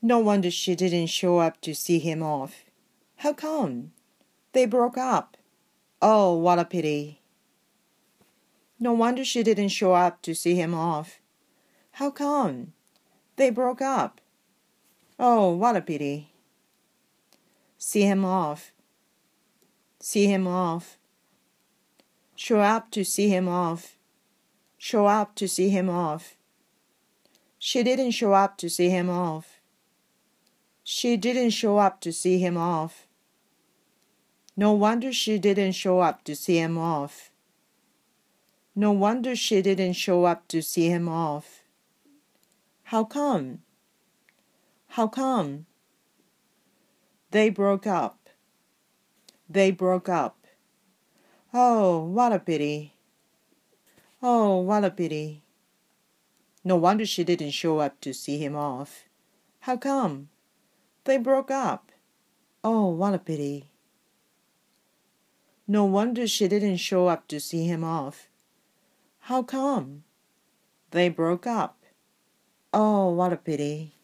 No wonder she didn't show up to see him off. How come? They broke up. Oh, what a pity. No wonder she didn't show up to see him off. How come? They broke up. Oh, what a pity. See him off. See him off. Show up to see him off. Show up to see him off. She didn't show up to see him off. She didn't show up to see him off. No wonder she didn't show up to see him off. No wonder she didn't show up to see him off. How come? How come? They broke up. They broke up. Oh, what a pity. Oh, what a pity. No wonder she didn't show up to see him off. How come? They broke up. Oh, what a pity. No wonder she didn't show up to see him off. How come? They broke up. Oh, what a pity.